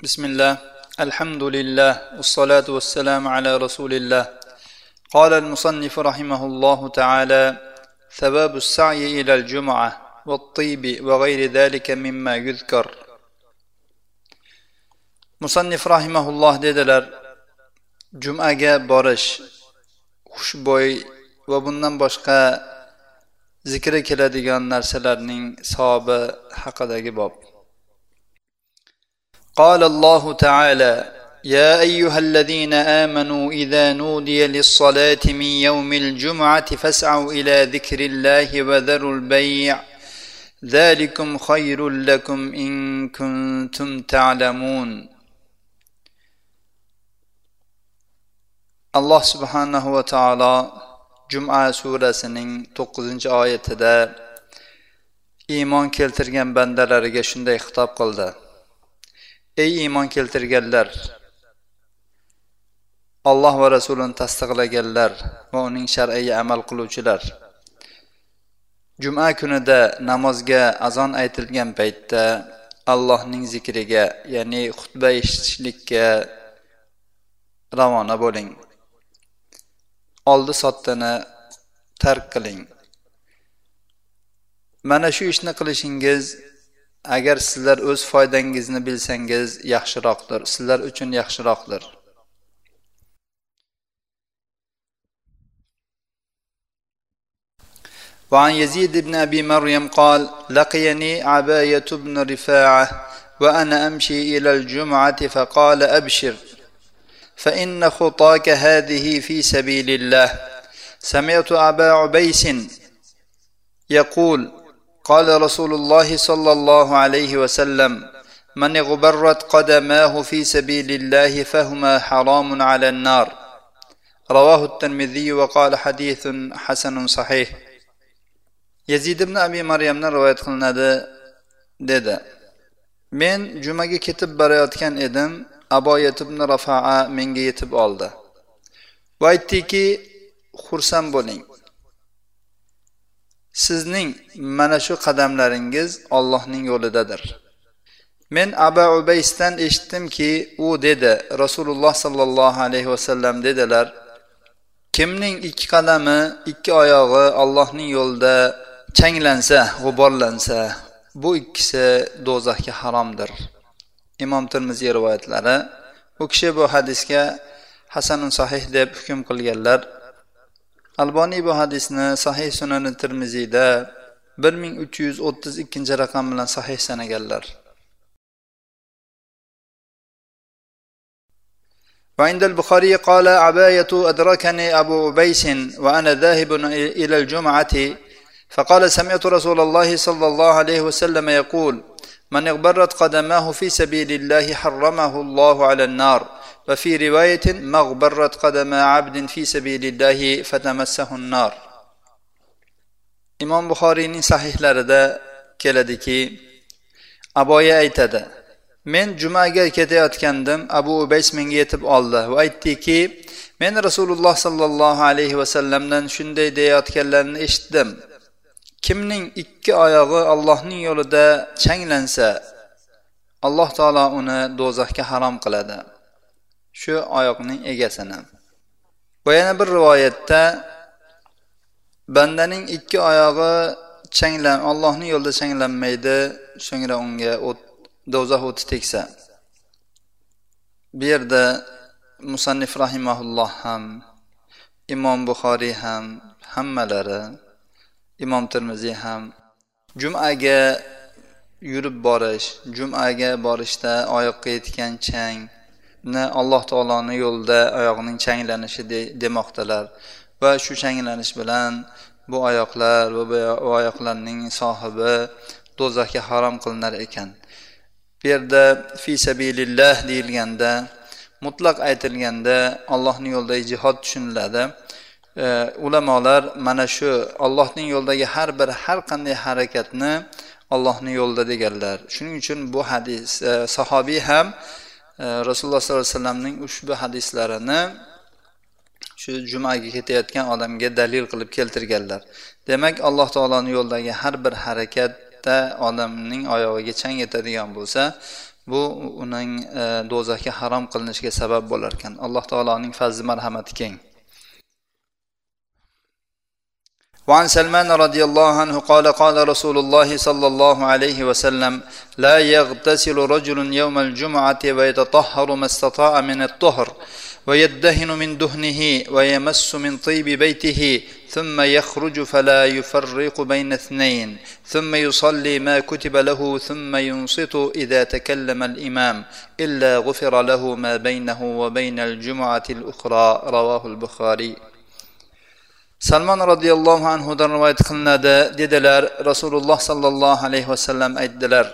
بسم الله الحمد لله والصلاة والسلام على رسول الله. قال المصنف رحمه الله تعالى: ثواب السعي إلى الجمعة والطيب وغير ذلك مما يذكر. Musannif rahimahulloh dedilar: Jum'aga borish, xushbo'y va bundan boshqa zikri keladigan narsalarning savobi haqidagi bob. قال الله تعالى: يا أيها الذين آمنوا إذا نودي للصلاة من يوم الجمعة فاسعوا إلى ذكر الله وذروا البيع ذلكم خير لكم إن كنتم تعلمون. Allah subhanahu va taolo Jum'a surasining 9-oyatida iymon keltirgan bandalariga shunday xitob qildi: Ey iymon keltirganlar, Alloh va rasulini tasdiqlaganlar va uning shar'iga amal qiluvchilar, Juma kunida namozga azon aytilgan paytda Allohning zikriga, ya'ni xutba eshitishlikka ravona bo'ling. Oldi sotdini tark qiling. Mana shu ishni qilishingiz agar sizlar o'z foydangizni bilsangiz yaxshiroqdir, sizlar uchun yaxshiroqdir. وعن يزيد بن أبي مريم قال: لقيني عباية بن رفاعة وأنا أمشي إلى الجمعة فقال: أبشر فإن خطاك هذه في سبيل الله. سمعت أبا عبيس يقول: قال رسول الله صلى الله عليه وسلم: من اغبرت قدماه في سبيل الله فهما حرام على النار. رواه الترمذي وقال: حديث حسن صحيح. Yazid ibn Abi Maryamdan rivoyat qilinadi dedi: Men jumaga ketib borayotgan edim, Aboyat ibn Rafa'a menga yetib oldi va aytdiki: xursand bo'ling, sizning mana shu qadamlaringiz Allohning yo'lidadir. Men Abu Ubaysdan eshitdimki, u dedi: Rasululloh sallallohu alayhi vasallam dedilar: kimning ikki qadami, ikki oyog'i Allohning yo'lida changlansa, g'uborlansa, bu ikkisi do'zaxga haromdir. Imom Tirmiziy rivoyatlari. U kishi bu hadisga hasanun sahih deb hukm qilganlar. Alboniy bu hadisni Sahih Sunan Tirmiziyda 1332 raqam bilan sahih sanaganlar. وعند البخاري قال: عباية أدركني أبو عبيس وأنا ذاهب إلى الجمعة فقال: سمعت رسول الله صلى الله عليه وسلم يقول: من اغبرت قدماه في سبيل الله حرمه الله على النار. وفي رواية: مغبرت قدم عبد في سبيل الله فتمسه النار. Imom Buxoriyning sahihlarida keladiki, Aboya aytadi: Men jumaga ketayotgandim, Abu Ubays menga yetib oldi va aytdiki: men Rasululloh sallallohu alayhi vasallamdan shunday deyotganlarini eshitdim: kimning ikki oyog'i Allohning yo'lida changlansa, Alloh taolo uni do'zaxga harom qiladi, shu oyoqning egasini. Va yana bir rivoyatda bandaning ikki oyog'i Allohning yo'lida changlanmaydi, so'ngra unga do'zax o'ti tegsa. Bu yerda Musannif rahimahulloh ham, Imom Buxoriy ham, hammalari, Imom Tirmiziy ham Jum'aga yurib borish, Jum'aga borishda oyoqqa yetgan changni Alloh taoloning yo'lida oyoqning changlanishi demoqdalar va shu changlanish bilan bu oyoqlar va bu oyoqlarning sohibi do'zaxga harom qilinar ekan. Bu yerda fi sabilillah deyilganda, mutlaq aytilganda Allohning yo'lidagi jihod tushuniladi. Ulamolar mana shu Allohning yo'lidagi har qanday harakatni Allohning yo'lida deganlar. Shuning uchun bu hadis sahobiy ham Rasululloh sollallohu alayhi vasallamning ushbu hadislarini shu jumaga ketayotgan odamga dalil qilib keltirganlar. Demak, Alloh taoloning yo'lidagi har bir harakatda odamning oyog'iga chang yetadigan bo'lsa, bu uning do'zaxga harom qilinishiga sabab bo'lar ekan. Alloh taoloning fazli marhamati keng. وعن سلمان رضي الله عنه قال قال رسول الله صلى الله عليه وسلم لا يغتسل رجل يوم الجمعة ويتطهر ما استطاع من الطهر ويدهن من دهنه ويمس من طيب بيته ثم يخرج فلا يفرق بين اثنين ثم يصلي ما كتب له ثم ينصت إذا تكلم الإمام إلا غفر له ما بينه وبين الجمعة الأخرى. رواه البخاري. Salman radhiyallohu anhudan rivoyat qilinadi, dedilar, Rasululloh sallallohu alayhi vasallam aytdilar: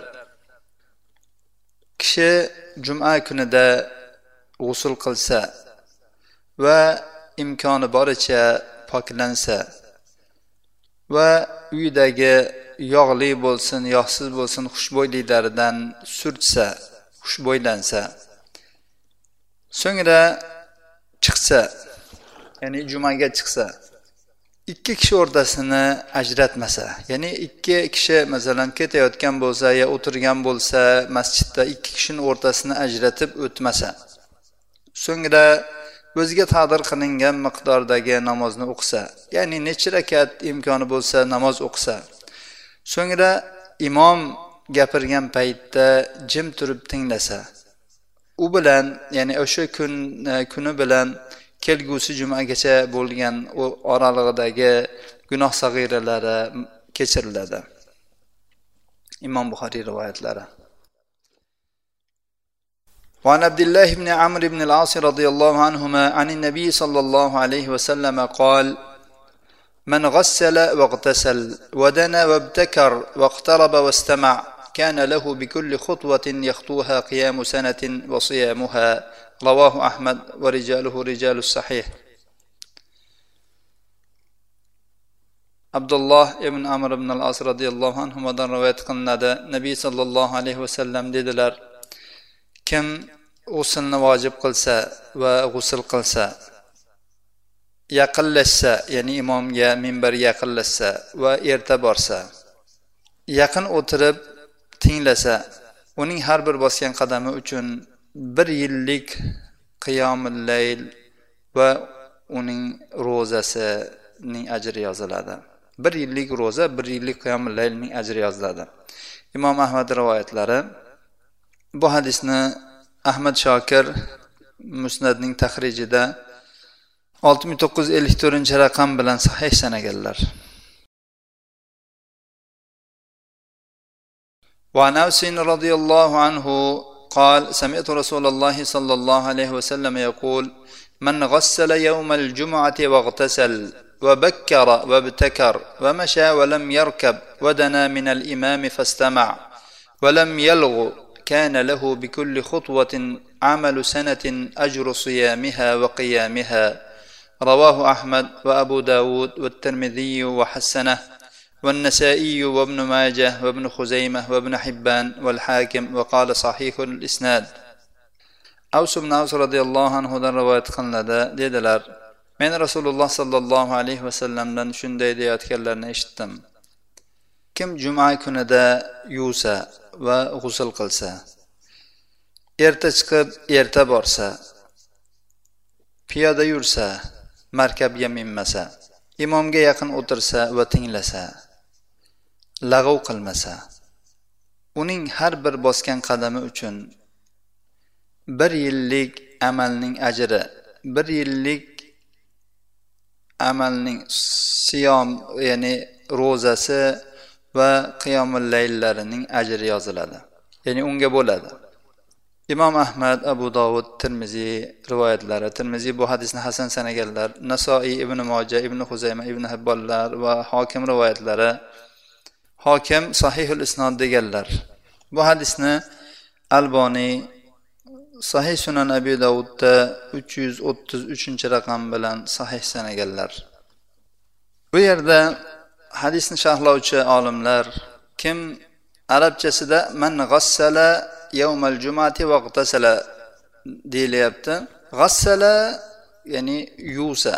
kishi juma kunida g'usl qilsa va imkoni boricha poklansa va uyidagi yog'li bo'lsin, yog'siz bo'lsin xushbo'yliklaridan surtsa, xushbo'ylansa, so'ngra chiqsa, ya'ni jumaga chiqsa, ikki kishi o'rtasini ajratmasa, ya'ni ikki kishi masalan ketayotgan bo'lsa yo o'tirgan bo'lsa, masjidda ikki kishining o'rtasini ajratib o'tmasa, so'ngra o'ziga taqdir qilingan miqdordagi namozni o'qisa, ya'ni necha rakat imkoni bo'lsa namoz o'qisa, so'ngra imom gapirgan paytda jim turib tinglasa, u bilan, ya'ni o'sha kuni bilan kelgusi jumagacha bo'lgan oralig'idagi gunoh sag'iralari kechiriladi. Imom Buxoriy rivoyatlari. وعن عبد الله بن عمرو بن العاص رضي الله عنهما عن النبي صلى الله عليه وسلم قال: من غسل واغتسل ودنا وابتكر واقترب واستمع كان له بكل خطوة يخطوها قيام سنة وصيامها. رواه أحمد ورجاله رجال الصحيح. Abdullah ibn Amr ibn al-As radhiyallohu anhudan rivoyat qilinadi. Nabiy sallallohu alayhi vasallam dedilar: kim g'uslni vojib qilsa va g'usl qilsa, yaqinlashsa, ya'ni imomga minbarga yaqinlashsa va erta borsa, yaqin o'tirib tinglasa, uning har bir bosgan qadami uchun 1 yillik qiyomul layl va uning ro'zasining ajri yoziladi. 1 yillik ro'za, 1 yillik qiyomul laylning ajri yoziladi. Imom Ahmad rivoyatlari. Bu hadisni Ahmad Shokir Musnadning tahrijida 6954-raqam bilan sahih sanaganlar. وعن أوس رضي الله عنه قال: سمعت رسول الله صلى الله عليه وسلم يقول: من غسل يوم الجمعة واغتسل وبكر وابتكر ومشى ولم يركب ودنا من الإمام فاستمع ولم يلغ كان له بكل خطوة عمل سنة أجر صيامها وقيامها. رواه أحمد وأبو داود والترمذي وحسنه والنسائي وابن ماجه وابن خزيمة وابن حبان والحاكم وقال صحيح الإسناد. Avs ibn Avs radhiyallohu anhudan rivoyat qilinadi, dedilar: men Rasululloh sallallohu alayhi vasallamdan shunday deyotganlarini eshitdim: kim juma kunida yuvsa va g'usl qilsa, erta chiqib erta borsa, piyoda yursa, markabga minmasa, imomga yaqin o'tirsa va tinglasa, lag'ov qilmasa, uning har bir bosgan qadami uchun 1 yillik amalning ajri, 1 yillik amalning siyom, ya'ni ro'zasi va qiyomul layllarining ajri yoziladi. Ya'ni unga bo'ladi. Imom Ahmad, Abu Dovud, Tirmiziy rivoyatlari. Tirmiziy bu hadisni hasan sanaganlar. Nasoiy, Ibn Mojah, Ibn Xuzayma, Ibn Hibbonlar va Hokim rivoyatlari. Hokim sahihul isnod deganlar. Bu hadisni Alboniy Sahih Sunan Abi Davudda 333-raqam bilan sahih sanaganlar. Bu yerda hadisni sharhlovchi olimlar kim arabchasida man ghassala yawmal jum'ati va g'tasala deyilyapti. Ghassala ya'ni yuvsa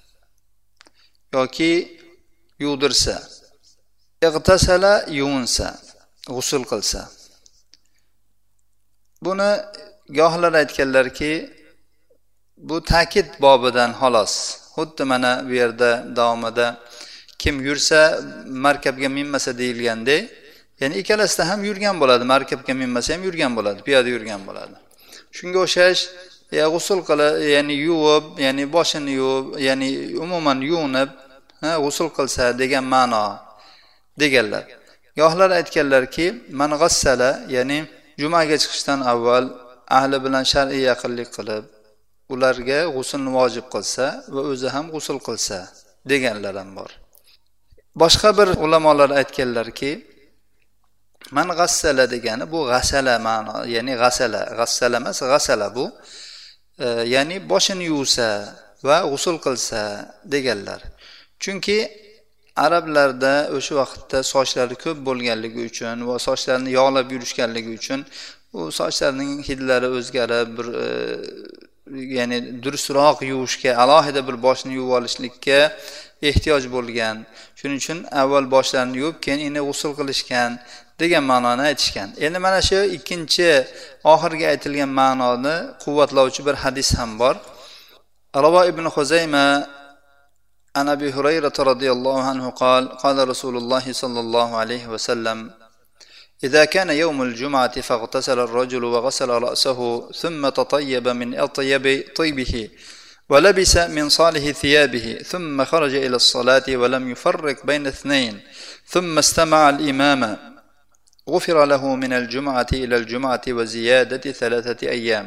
yoki yuvdirsa, ig'tasala yuvinsa, g'usl qilsa. Buni gohlar aytganlarki, bu ta'kid bobidan xolos. Xuddi mana bu yerda davomida kim yursa markabga minmasa deyilganda, ya'ni ikkalasida ham yurgan bo'ladi, markabga minmasa ham yurgan bo'ladi, piyoda yurgan bo'ladi. Shunga o'xshash, g'usl qilib, ya'ni yuvib, ya'ni boshini yuvib, ya'ni umuman yuvinib, g'usl qilsa degan ma'no deganlar. Gohlar aytganlarki, man g'assala, ya'ni jumaga chiqishdan avval ahli bilan shar'iy yaqinlik qilib, ularga g'uslni vojib qilsa va o'zi ham g'usl qilsa deganlar ham bor. Boshqa bir ulamolar aytganlarki, man g'assala degani bu g'asala ma'no, ya'ni g'assala emas, g'asala bu, ya'ni boshini yuvsa va g'usl qilsa deganlar. Chunki arablarda o'sha vaqtda sochlari ko'p bo'lganligi uchun va sochlarini yog'lab yurishganligi uchun u sochlarining hidlari o'zgarib, bir ya'ni durustroq yuvishga, alohida bir boshni yuvib olishlikka ehtiyoj bo'lgan. Shuning uchun avval boshlarini yuvib, keyin uni g'usl qilishgan degan ma'noni aytishgan. Endi mana shu ikkinchi oxirgi aytilgan ma'noni quvvatlovchi bir hadis ham bor. Ravo ibn Xuzayma an Abi Hurayra radhiyallohu anhu qala Rasululloh sallallohu alayhi va sallam: إذا كان يوم الجمعة فاغتسل الرجل وغسل رأسه ثم تطيب من أطيب طيبه ولبس من صالح ثيابه ثم خرج إلى الصلاة ولم يفرق بين اثنين ثم استمع الإمام غفر له من الجمعة إلى الجمعة وزيادة 3 أيام.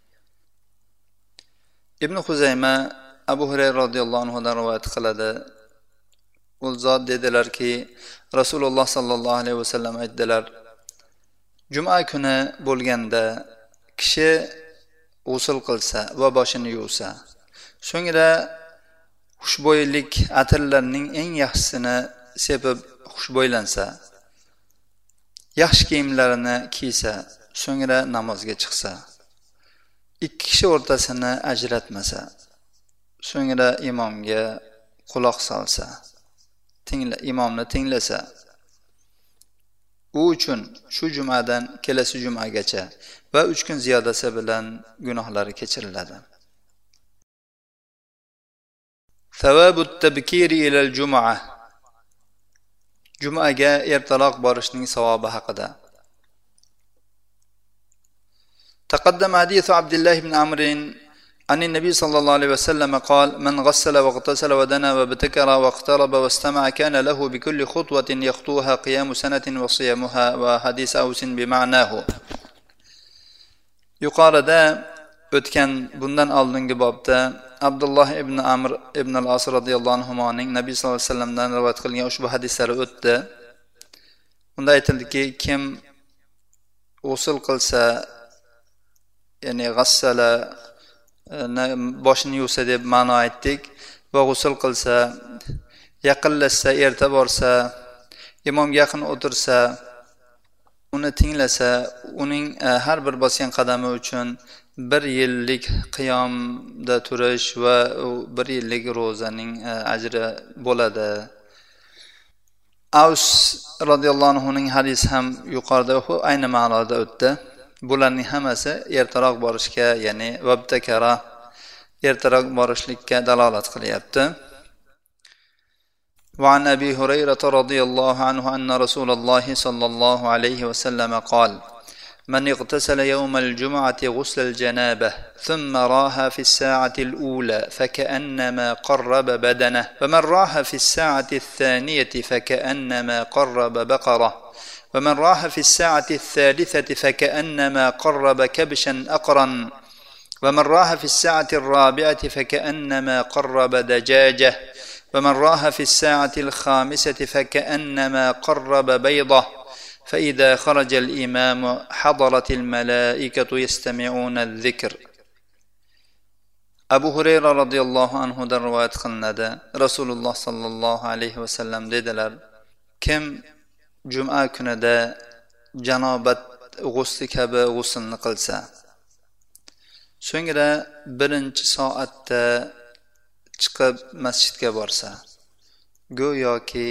ابن خزيمة Abu Hurayra radhiyallohu anhudan rivoyat qiladi. U zot dedilarki, Rasululloh sallallohu alayhi vasallam aytdilar: Juma kuni bo'lganda kishi g'usl qilsa va boshini yuvsa, so'ngra xushbo'ylik atirlarning eng yaxshisini sepib xushbo'ylansa, yaxshi kiyimlarini kiysa, so'ngra namozga chiqsa, ikki kishi o'rtasini ajratmasa, so'ngra imomga quloq solsa, imomni tinglasa, u uchun shu jumadan kelasi jumagacha va 3 kun ziyodasi bilan gunohlari kechiriladi. Savabut tabkiri ilal jum'ah. Jumaga ertaroq borishning savobi haqida. Taqaddama hadith Abdullah ibn Amr عن النبي صلى الله عليه وسلم قال: من غسل واغتسل ودنا وابتكر واقترب واستمع كان له بكل خطوة يخطوها قيام سنة وصيامها. وحديث أوس بمعناه. Yuqorida o'tgan bundan oldingi bobda Abdullah ibn Amr ibn al-As radhiyallohu anhuning Nabiy sallallohu alayhi vasallamdan rivoyat qilgan ushbu hadislari o'tdi. Unda aytildiki, kim g'usl qilsa, ya'ni g'assala boshini yuvsa deb ma'no aytdik, va g'usl qilsa, yaqinlashsa, erta borsa, imomga yaqin o'tirsa, uni tinglasa, uning har bir bosgan qadami uchun 1 yillik qiyomda turish va 1 yillik ro'zaning ajri bo'ladi. Avs radhiyallohu anhuning hadisi ham yuqorida ayni ma'noda o'tdi. Bularning hammasi ertaroq borishga, ya'ni vabtakara, ertaroq borishlikka dalolat qilyapti. وعن أبي هريرة رضي الله عنه أن رسول الله صلى الله عليه وسلم قال: من اغتسل يوم الجمعة غسل الجنابة ثم راها في الساعة الأولى فكأنما قرب بدنه، ومن راها في الساعة الثانية فكأنما قرب بقرة، ومن راها في الساعة الثالثة فكأنما قرب كبشا أقرا، ومن راها في الساعة الرابعة فكأنما قرب دجاجة، ومن راها في الساعة الخامسة فكأنما قرب بيضة، فإذا خرج الإمام حضرت الملائكة يستمعون الذكر. Abu Hurayra radhiyallohu anhudan rivoyat qilinadi. Rasululloh sallallohu alayhi vasallam dedilar: kim juma kunida janobat g'usli kabi g'uslni qilsa, so'ngra 1-soatda chiqib masjidga borsa, go'yoki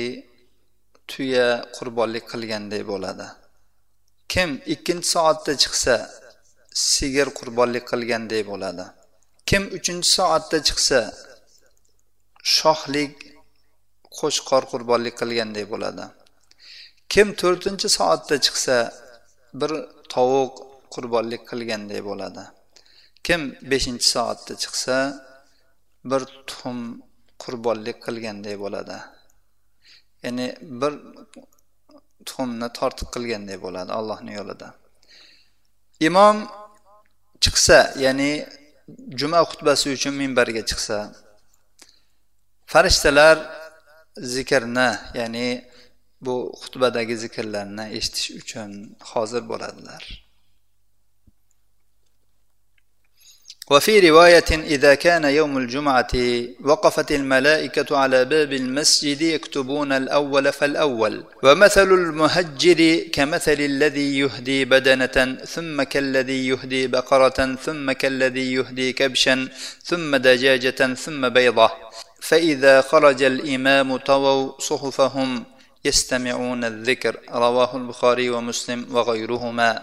tuya qurbonlik qilganday bo'ladi. Kim 2-soatda chiqsa sigir qurbonlik qilgandek bo'ladi. Kim 3-soatda chiqsa shohlik qo'chqor qurbonlik qilgandek bo'ladi. Kim 4-soatda chiqsa bir tovuq qurbonlik qilgandek bo'ladi. Kim 5-soatda chiqsa bir tuxum qurbonlik qilgandek bo'ladi. Ya'ni bir tuxumni tortiq qilgandek bo'ladi Allohning yo'lida. Imom chiqsa, ya'ni juma xutbasi uchun minbarga chiqsa, farishtalar zikrni, ya'ni bu xutbadagi zikrlarni eshitish uchun hozir bo'ladilar. وفي رواية إذا كان يوم الجمعة وقفت الملائكة على باب المسجد يكتبون الأول فالأول ومثل المهجر كمثل الذي يهدي بدنة ثم كالذي يهدي بقرة ثم كالذي يهدي كبشا ثم دجاجة ثم بيضة فإذا خرج الإمام طووا صحفهم يستمعون الذكر رواه البخاري ومسلم وغيرهما.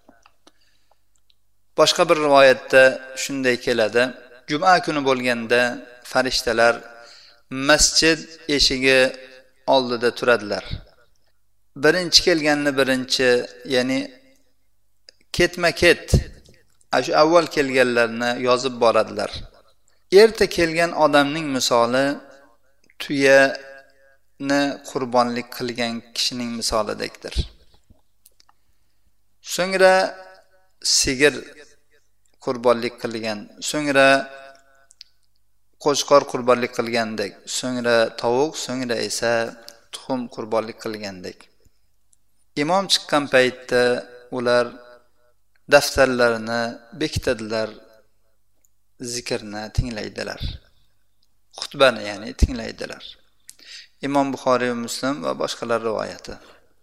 Boshqa bir rivoyatda shunday keladi. Juma kuni bo'lganda farishtalar masjid eshigi oldida turadilar. Birinchi kelganni birinchi, ya'ni ketma-ket shu avval kelganlarni yozib boradilar. Erta kelgan odamning misoli tuyani qurbonlik qilgan kishining misolidekdir. So'ngra sigir qurbonlik qilgan, so'ngra qo'chqor qurbonlik qilgandek, so'ngra tovuq, so'ngra esa tuxum qurbonlik qilgandek. Imom chiqqan paytda ular daftarlarini bekitadilar, zikrni tinglaydilar. Xutbani ya'ni tinglaydilar. Imom Buxoriy va Muslim va boshqalar rivoyati.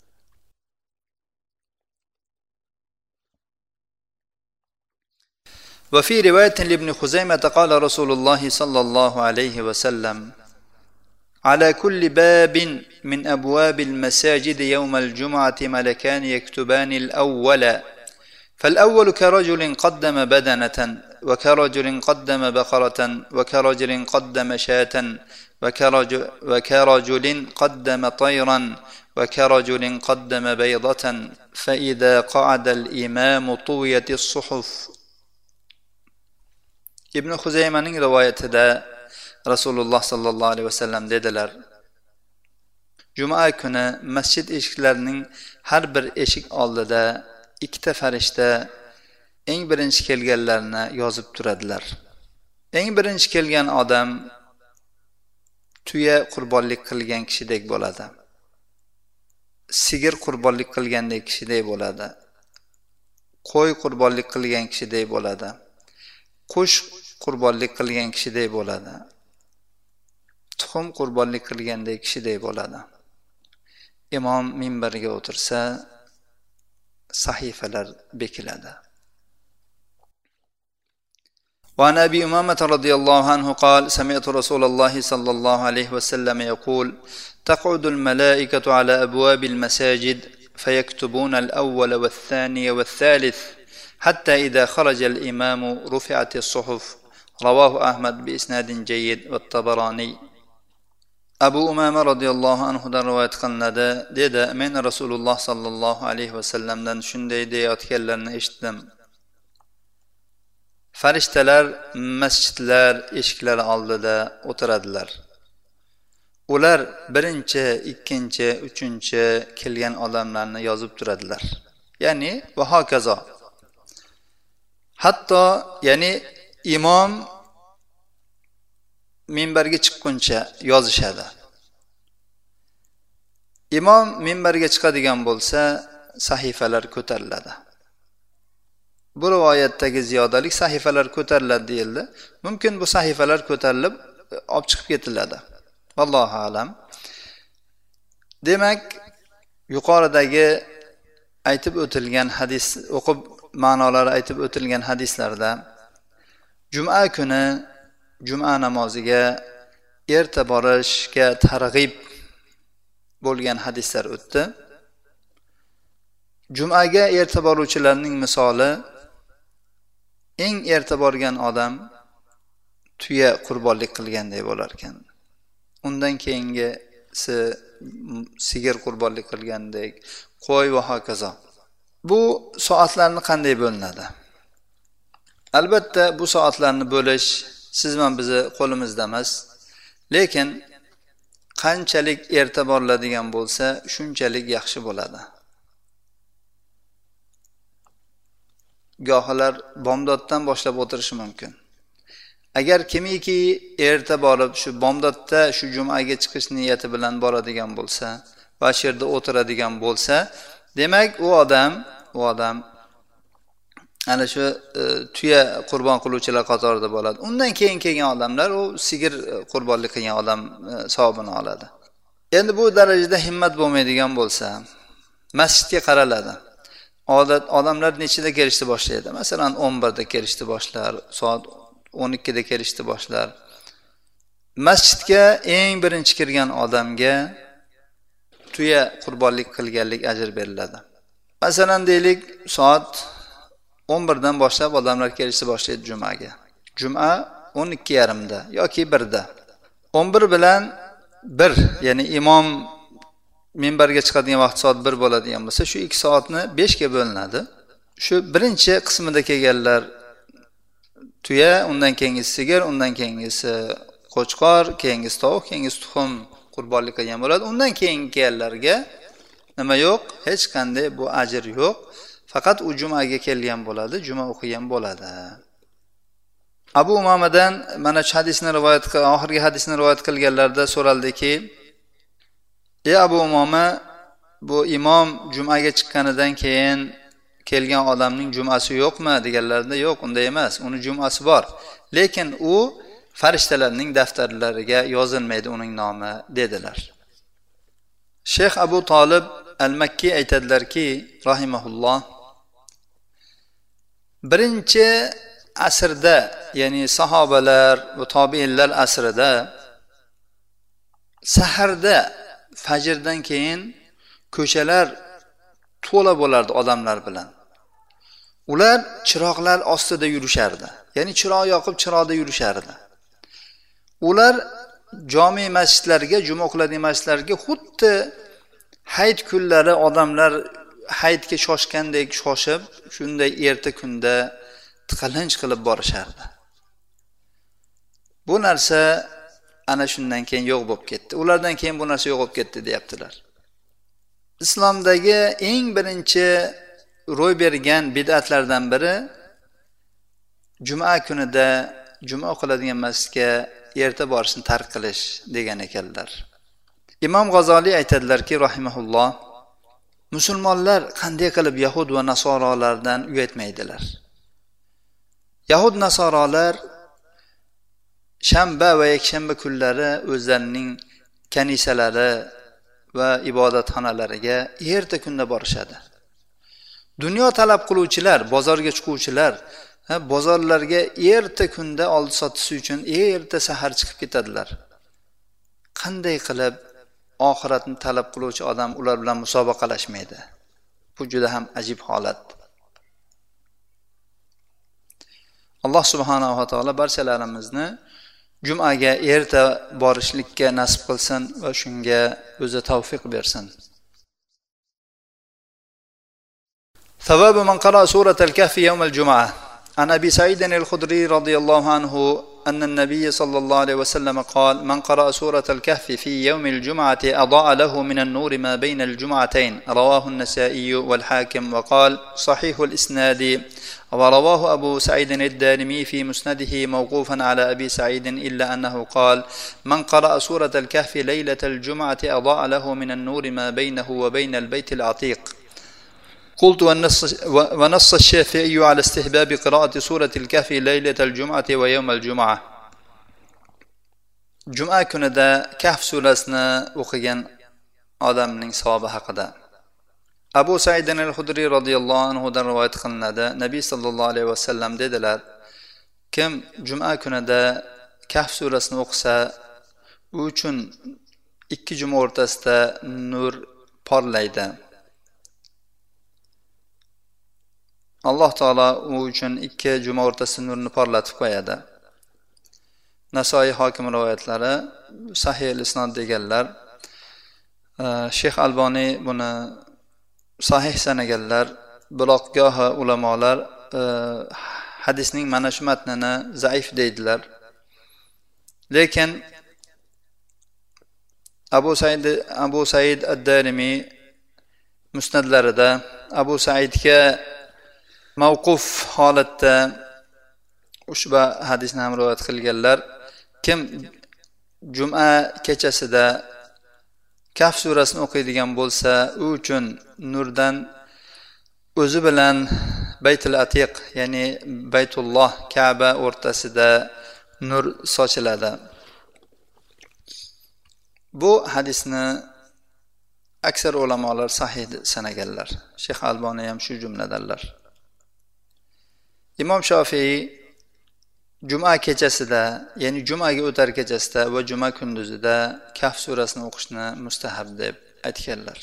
وفي رواية لابن خزيمة قال رسول الله صلى الله عليه وسلم على كل باب من أبواب المساجد يوم الجمعة ملكان يكتبان الأول فالأول كرجل قدم بدنة وكرجل قدم بقرة وكرجل قدم شاة وكرجل قدم طيرا وكرجل قدم بيضة فإذا قعد الإمام طويت الصحف. Ibn Xuzaymaning rivoyatida Rasululloh sallallohu alayhi vasallam dedilar: Juma kuni masjid eshiklarining har bir eshik oldida ikkita farishta eng birinchi kelganlarni yozib turadilar. Eng birinchi kelgan odam tuya qurbonlik qilgan kishidek bo'ladi. Sigir qurbonlik qilgandek kishidek bo'ladi. Qo'y qurbonlik qilgan kishidek bo'ladi. Qush qurbonlik qilgan kishidek bo'ladi. Tuxum qurbonlik qilgandek kishidek bo'ladi. Imom minbarga o'tirsa, sahifalar bekiladi. وعن أبي أمامة رضي الله عنه قال سمعت رسول الله صلى الله عليه وسلم يقول تقعد الملائكة على أبواب المساجد فيكتبون الأول والثاني والثالث حتى إذا خرج الإمام رفعت الصحف رواه أحمد بإسناد جيد والطبراني. Abu Umama radhiyallohu anhudan rivoyat qilinadi, dedi, men Rasululloh sallallohu alayhi vasallamdan shunday deyotganlarini eshitdim. Farishtalar masjidlar eshiklari oldida o'tiradilar. Ular birinchi, ikkinchi, uchinchi kelgan odamlarni yozib turadilar. Ya'ni va hokazo. Hatto ya'ni imom minbarga chiqquncha yozishadi. Imom minbarga chiqadigan bo'lsa, sahifalar ko'tariladi. Bu rivoyatdagi ziyodalik sahifalar ko'tariladi deyildi. Mumkin bu sahifalar ko'tarilib olib chiqib ketiladi. Vallohu alam. Demak, yuqoridagi aytib o'tilgan hadis, o'qib ma'nolari aytib o'tilgan hadislarda juma kuni juma namoziga erta borishga targ'ib bo'lgan hadislar o'tdi. Jumaga erta boruvchilarning misoli eng erta borgan odam tuya qurbonlik qilganday bo'lar ekan. Undan keyingisi sigir qurbonlik qilgandek, qo'y va hokazo. Bu soatlarni qanday bo'linadi? Albatta bu soatlarni bo'lish siz bilan bizni qo'limizda emas. Lekin qanchalik erta boriladigan bo'lsa, shunchalik yaxshi bo'ladi. Gohlar bomdoddan boshlab o'tirishi mumkin. Agar kimiki erta borib shu bomdodda shu jumaga chiqish niyati bilan boradigan bo'lsa va shu yerda o'tiradigan bo'lsa, demak u odam ana shu tuya qurbon qiluvchilar qatorida bo'ladi. Undan keyin kelgan odamlar u sigir qurbonlik qilgan odam savobini oladi. Endi bu darajada himmat bo'lmaydigan bo'lsa, masjidga qaraladi. Odamlar nechida kelishni boshlaydi? Masalan, 11 da kelishni boshlar, soat 12 da kelishni boshlar. Masjidga eng birinchi kirgan odamga tuya qurbonlik qilganlik ajr beriladi. Masalan, deylik, soat 11 dan boshlab odamlar kelishni boshlaydi jumaga. Juma 12:30 da yoki 1 da. 11 bilan 1, ya'ni imom minbarga chiqadigan vaqt soat 1 bo'ladigan bo'lsa, shu 2 soatni 5 ga bo'linadi. Shu birinchi qismida kelganlar tuya, undan keyingisi sigir, undan keyingisi qo'chqor, keyingisi tovuq, keyingisi tuxum qurbonlik qilgan bo'ladi. Undan keyingi kelganlarga nima yo'q, hech qanday bu ajr yo'q. Faqat u jumaga kelgan bo'ladi, juma o'qigan bo'ladi. Abu Umomadan mana shu hadisni rivoyat qilgan, oxirgi hadisni rivoyat qilganlarda so'raldiki: "Ey Abu Umoma, bu imom jumaga chiqqanidan keyin kelgan odamning jumasi yo'qmi?" deganlarida, "Yo'q, unday emas. Uning jumasi bor. Lekin u farishtalarning daftarlariga yozilmaydi uning nomi", dedilar. Shayx Abu Talib al-Makki aytadilarki, rahimahulloh, birinchi asrda, ya'ni sahobalar va tobiinlar asrida saharda fajrdan keyin ko'chalar to'la bo'lardi odamlar bilan. Ular chiroqlar ostida yurishardi. Ya'ni chiroq yoqib chiroqda yurishardi. Ular jami masjidlarga, juma o'qiladigan masjidlarga xuddi hayit kunlari odamlar hayitga shoshgandek shoshib, shunday erta kunda tiqilinch qilib borishardi. Bu narsa ana shundan keyin yo'q bo'lib ketdi. Ulardan keyin bu narsa yo'q bo'lib ketdi, deyaptilar. Islomdagi eng birinchi ro'y bergan bid'atlardan biri juma kunida juma o'qiladigan masjidga erta borishni tark qilish degan ekanlar. Imom G'azoliy aytadilarki, rahimahulloh, musulmonlar qanday qilib yahud va nasorolardan uyatmaydilar? Yahud nasorolar shanba va yakshanba kunlari o'zlarining kanisalari va ibodatxonalariga erta kunda borishadi. Dunyo talab qiluvchilar, bozorga chiquvchilar, bozorlarga erta kunda oldi sotish uchun erta sahar chiqib ketadilar. Qanday qilib oxiratni talab qiluvchi odam ular bilan musobaqalashmaydi? Bu juda ham ajib holat. Alloh subhanahu va taolo barchalarimizni jumaga erta borishlikka nasib qilsin va shunga o'zi tavfiq bersin. Savabu man qara suratal kahfi yawm al-jum'ah. An Abi Sa'id al-Khudri radiyallahu anhu أن النبي صلى الله عليه وسلم قال: من قرأ سورة الكهف في يوم الجمعة أضاء له من النور ما بين الجمعتين. رواه النسائي والحاكم وقال صحيح الإسناد. ورواه أبو سعيد الدارمي في مسنده موقوفا على أبي سعيد إلا أنه قال: من قرأ سورة الكهف ليلة الجمعة أضاء له من النور ما بينه وبين البيت العتيق. قلت ونص الشافعي على استحباب قراءة سورة الكهف ليلة الجمعة ويوم الجمعة. Juma kunida Kahf surasini o'qigan odamning savobi haqida Abu Sa'id al-Khudri radhiyallohu anhu dan rivoyat qilinadi. Nabiy sallallohu alayhi vasallam dedilar: kim juma kunida Kahf surasini o'qisa, u uchun ikki juma o'rtasida nur porlaydi. Alloh taolo u uchun ikki juma o'rtasida nurni porlatib qo'yadi. Nasoiy Hokim rivoyatlari sahih al-isnod deganlar. Sheyx Alboniy buni sahih sanaganlar. Biroq gohi ulamolar hadisning mana shu matnini zaif deydilar. Lekin Abu Said ad-Darimi musnadlarida Abu Saidga mavquf holatda ushbu hadisni ham rivoyat qilganlar. Kim juma kechasida Kahf surasini o'qiydigan bo'lsa, u uchun nurdan o'zi bilan Baytul Atiq, ya'ni Baytulloh, Ka'ba o'rtasida nur sochiladi. Bu hadisni aksar ulamolar sahih sanaganlar. Sheyx Alboniy ham shu jumladanlar. Imom Shofiy juma kechasida, ya'ni jumaga o'tar kechasida va juma kunduzida Kahf surasini o'qishni mustahab deb aytganlar.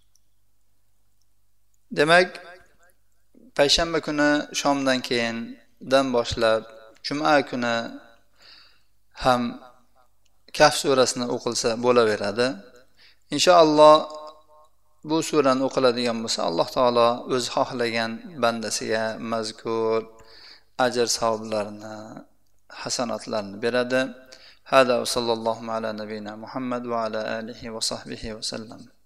Demak, payshanba kuni shomdan keyindan boshlab juma kuni ham Kahf surasini o'qilsa bo'laveradi. Inshaalloh bu surani o'qiladigan bo'lsa, Alloh taolo o'zi xohlagan bandasiga mazkur ajr savoblarini, hasanatlarini beradi. Hada va sallallohu ala nabiyina Muhammad va ala alihi va sahbihi va sallam.